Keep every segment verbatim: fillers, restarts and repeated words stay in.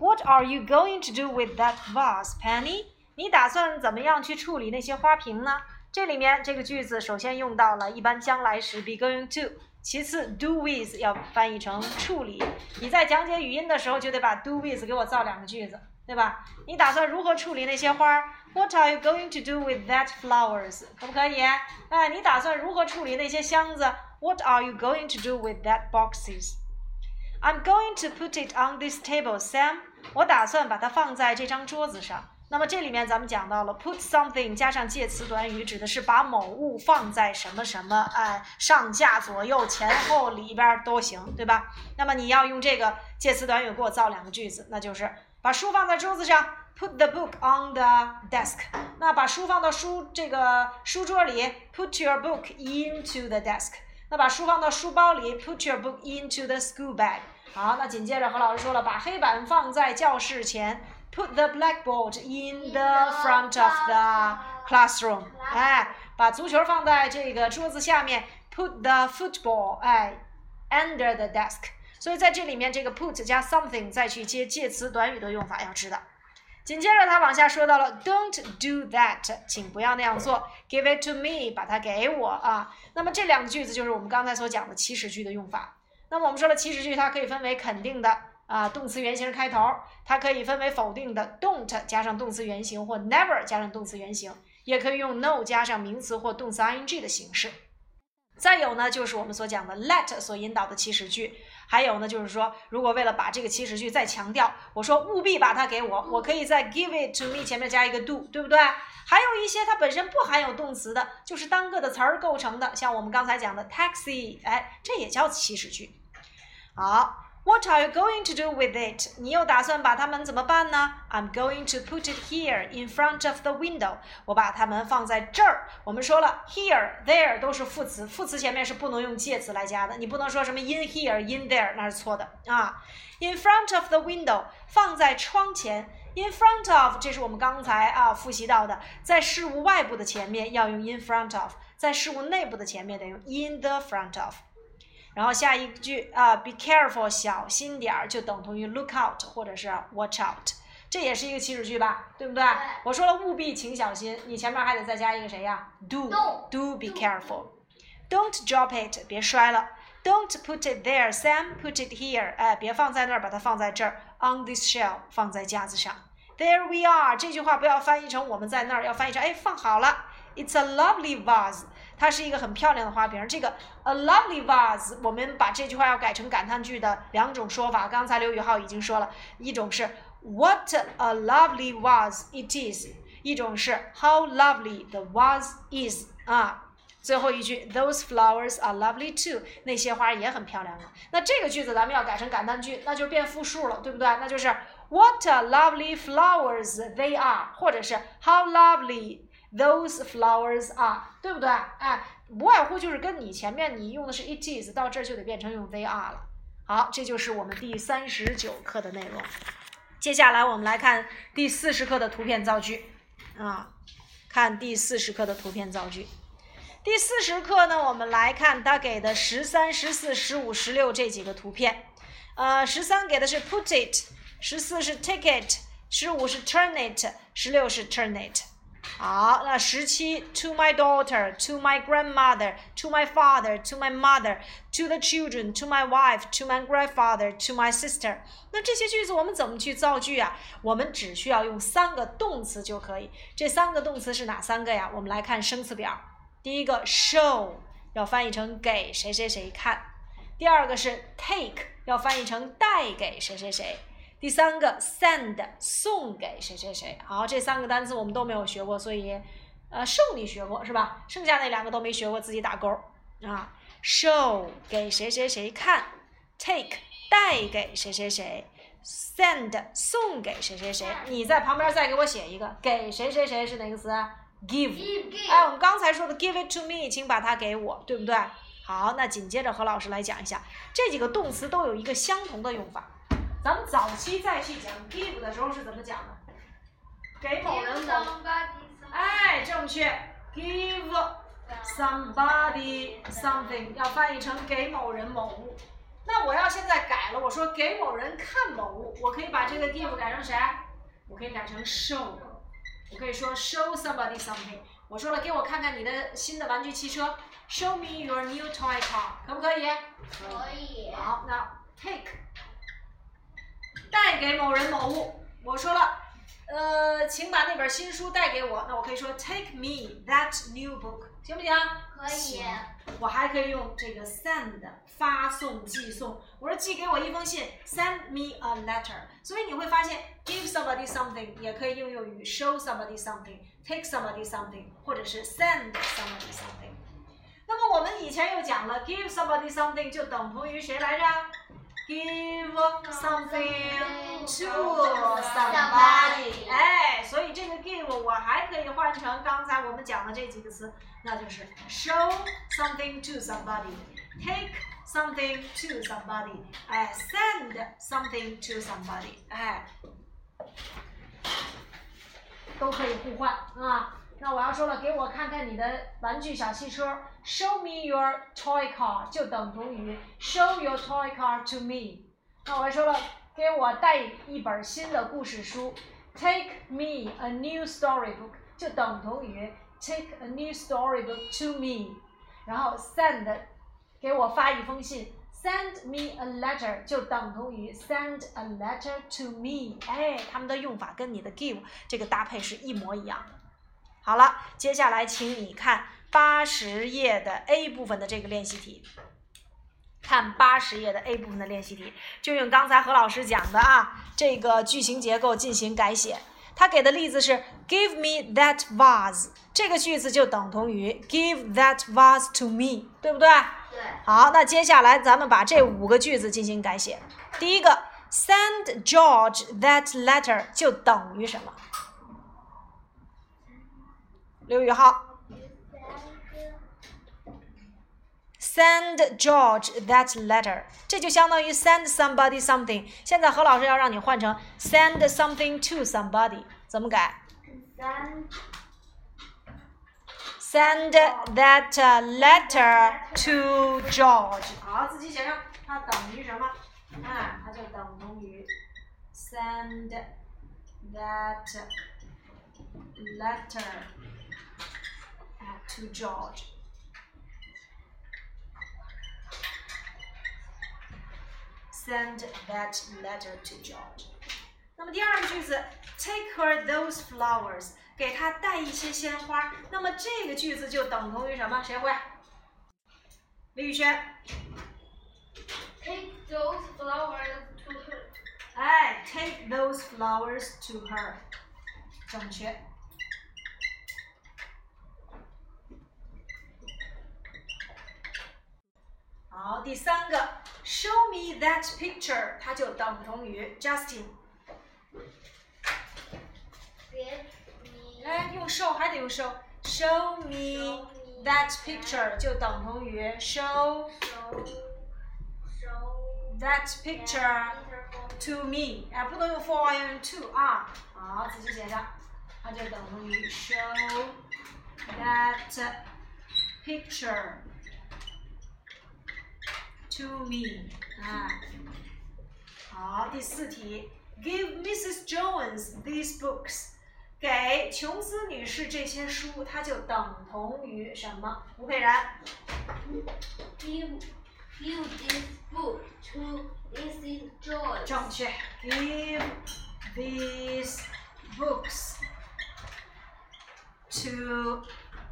What are you going to do with that vase, Penny? 你打算怎么样去处理那些花瓶呢？这里面这个句子首先用到了一般将来时 be going to， 其次 do with 要翻译成处理。你在讲解语音的时候就得把 do with 给我造两个句子，对吧？你打算如何处理那些花 ？What are you going to do with that flowers？ 可不可以？哎，你打算如何处理那些箱子 ？What are you going to do with that boxes？I'm going to put it on this table, Sam. 我打算把它放在这张桌子上。那么这里面咱们讲到了 put something 加上介词短语，指的是把某物放在什么什么，哎，上下左右前后里边都行，对吧？那么你要用这个介词短语给我造两个句子，那就是把书放在桌子上 ，put the book on the desk。那把书放到书这个书桌里 ，put your book into the desk。那把书放到书包里 ，put your book into the school bag。好，那紧接着何老师说了，把黑板放在教室前 ，put the blackboard in the front of the classroom。哎，把足球放在这个桌子下面 ，put the football 哎 under the desk。所以在这里面，这个 put 加 something 再去接介词短语的用法要知道。紧接着他往下说到了 ，Don't do that， 请不要那样做 ，Give it to me， 把它给我啊。那么这两个句子就是我们刚才所讲的祈使句的用法。那么我们说了，祈使句它可以分为肯定的啊，动词原形开头，它可以分为否定的 don't 加上动词原形或 never 加上动词原形，也可以用 no 加上名词或动词 ing 的形式。再有呢，就是我们所讲的 let 所引导的祈使句，还有呢，就是说，如果为了把这个祈使句再强调，我说务必把它给我，我可以在 give it to me 前面加一个 do， 对不对？还有一些它本身不含有动词的，就是单个的词儿构成的，像我们刚才讲的 taxi， 哎，这也叫祈使句。好。What are you going to do with it? 你又打算把它们怎么办呢？ I'm going to put it here in front of the window. 我把它们放在这儿。我们说了 here, there 都是副词，副词前面是不能用介词来加的。你不能说什么 in here, in there， 那是错的啊。In front of the window 放在窗前。In front of 这是我们刚才啊复习到的，在事物外部的前面要用 in front of， 在事物内部的前面得用 in the front of。然后下一句啊 ，be careful， 小心点儿，就等同于 look out 或者是 watch out， 这也是一个祈使句吧，对不对？对，我说了务必请小心，你前面还得再加一个谁呀 ？do do be careful，don't drop it， 别摔了 ，don't put it there Sam put it here， 哎，别放在那儿，把它放在这儿 ，on this shelf 放在架子上 ，there we are 这句话不要翻译成我们在那儿，要翻译成哎放好了 ，it's a lovely vase。它是一个很漂亮的花瓶，这个 a lovely vase， 我们把这句话要改成感叹句的两种说法。刚才刘宇浩已经说了，一种是 what a lovely vase it is， 一种是 how lovely the vase is 啊。最后一句 those flowers are lovely too， 那些花也很漂亮啊。那这个句子咱们要改成感叹句，那就变复数了，对不对？那就是 what a lovely flowers they are， 或者是 how lovely。Those flowers are， 对不对？哎，不外乎就是跟你前面你用的是 it is， 到这儿就得变成用 they are 了。好，这就是我们第三十九课的内容。接下来我们来看第四十课的图片造句啊，看第四十课的图片造句。第四十课呢，我们来看它给的十三、十四、十五、十六这几个图片。呃，十三给的是 put it， 十四是 take it， 十五是 turn it， 十六是 turn it。好，那十七 to my daughter, to my grandmother, to my father, to my mother, to the children, to my wife, to my grandfather, to my sister。那这些句子我们怎么去造句啊？我们只需要用三个动词就可以。这三个动词是哪三个呀？我们来看生词表。第一个 show 要翻译成给谁谁谁看。第二个是 take 要翻译成带给谁谁谁。第三个 send 送给谁谁谁。好，这三个单词我们都没有学过，所以呃受你学过是吧？剩下那两个都没学过，自己打勾啊。show 给谁谁谁看 ，take 带给谁谁谁 ，send 送给谁谁谁。你在旁边再给我写一个，给谁谁谁是哪个词 ？give。哎，我们刚才说的 give it to me， 请把它给我，对不对？好，那紧接着何老师来讲一下，这几个动词都有一个相同的用法。咱们早期再去讲 give 的时候是怎么讲的？给某人某，哎，正确 ，give somebody something 要翻译成给某人某物。 那我要现在改了，我说给某人看某物，我可以把这个 give 改成谁？我可以改成 show， 我可以说 show somebody something。我说了，给我看看你的新的玩具汽车 ，show me your new toy car， 可不可以？ 可以。 好，那 take 带给某人某物，我说了，呃，请把那本新书带给我，那我可以说 take me that new book， 行不行？ 可以。 我还可以用这个 send 发送、寄送。我说寄给我一封信 ，send me a letter。所以你会发现 ，give somebody something 也可以应用于 show somebody something、take somebody something， 或者是 send somebody something。那么我们以前又讲了 ，give somebody something 就等同于谁来着 ？give something to somebody。哎，所以这个 give 我还可以换成刚才我们讲的这几个词。那就是 show something to somebody，take something to somebody， 哎 ，send something to somebody， 哎，都可以互换啊。那我要说了，给我看看你的玩具小汽车 ，show me your toy car 就等同于 show your toy car to me。那我说了，给我带一本新的故事书 ，take me a new storybook 就等同于Take a new storybook to me， 然后 send 给我发一封信 ，send me a letter 就等同于 send a letter to me。哎，它们的用法跟你的 give 这个搭配是一模一样的。好了，接下来请你看八十页的 A 部分的这个练习题。看八十页的 A 部分的练习题，就用刚才何老师讲的啊，这个句型结构进行改写。他给的例子是 Give me that vase， 这个句子就等同于 Give that vase to me， 对不对？ 对。 好，那接下来咱们把这五个句子进行改写。第一个 Send George that letter 就等于什么？刘宇浩。Send George that letter， 这就相当于 send somebody something。现在何老师要让你换成 send something to somebody， 怎么改 ？Send that letter to George。好，自己写上，它等于什么？啊，它就等同于 send that letter to George。Send that letter to George。那么第二个句子 ，Take her those flowers， 给她带一些鲜花。那么这个句子就等同于什么？谁会？李宇轩。 Take those flowers to her。 哎 ，Take those flowers to her， 正确。好，第三个 ，Show me that picture， 它就等同于 Justin。哎，用 show 还得用 show，Show me that picture 就等同于 show that picture to me。哎，不能用 for， 要用 to 啊。好，自己写上，它就等同于 show that picture。To me， 啊，好，第四题 ，Give Missus Jones these books， 给琼斯女士这些书，它就等同于什么？吴佩然 ，Give Give this book to Missus Jones。 正确 ，Give these books to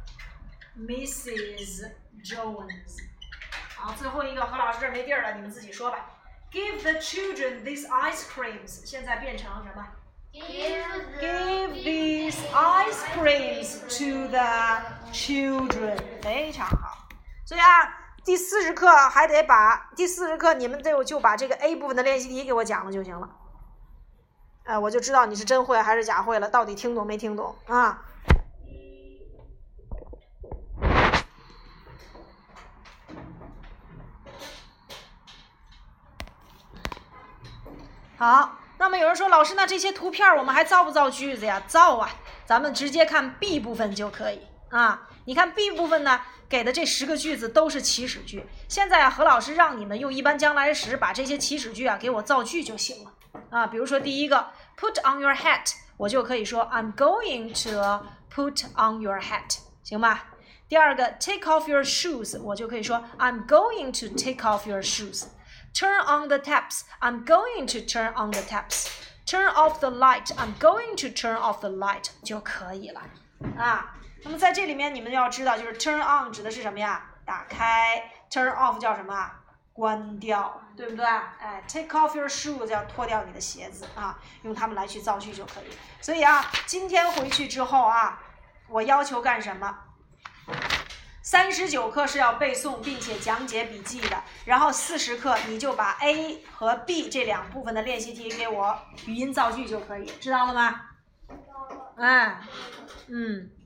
Missus Jones。好，最后一个何老师这儿没地儿了，你们自己说吧。Give the children these ice creams， 现在变成什么 ？Give Give these ice creams to the children， 非常好。所以啊，第四十课还得把第四十课你们就就把这个 A 部分的练习题给我讲了就行了。呃，我就知道你是真会还是假会了，到底听懂没听懂啊？好，那么有人说老师，那这些图片我们还造不造句子呀？造啊，咱们直接看 B 部分就可以啊。 你看 B 部分呢，给的这十个句子都是祈使句。现在啊，何老师让你们用一般将来时把这些祈使句啊给我造句就行了啊。比如说第一个 ，put on your hat， 我就可以说 I'm going to put on your hat， 行吧？第二个 take off your shoes， 我就可以说 I'm going to take off your shoes。Turn on the taps, I'm going to turn on the taps.Turn off the light, I'm going to turn off the light 就可以了啊。那么在这里面你们要知道，就是 turn on 指的是什么呀？打开。turn off 叫什么？关掉，对不对？哎 ，take off your shoes 叫脱掉你的鞋子啊，用它们来去造句就可以。所以啊，今天回去之后啊，我要求干什么？三十九课是要背诵并且讲解笔记的，然后四十课你就把 A 和 B 这两部分的练习题给我语音造句就可以，知道了吗？嗯，嗯。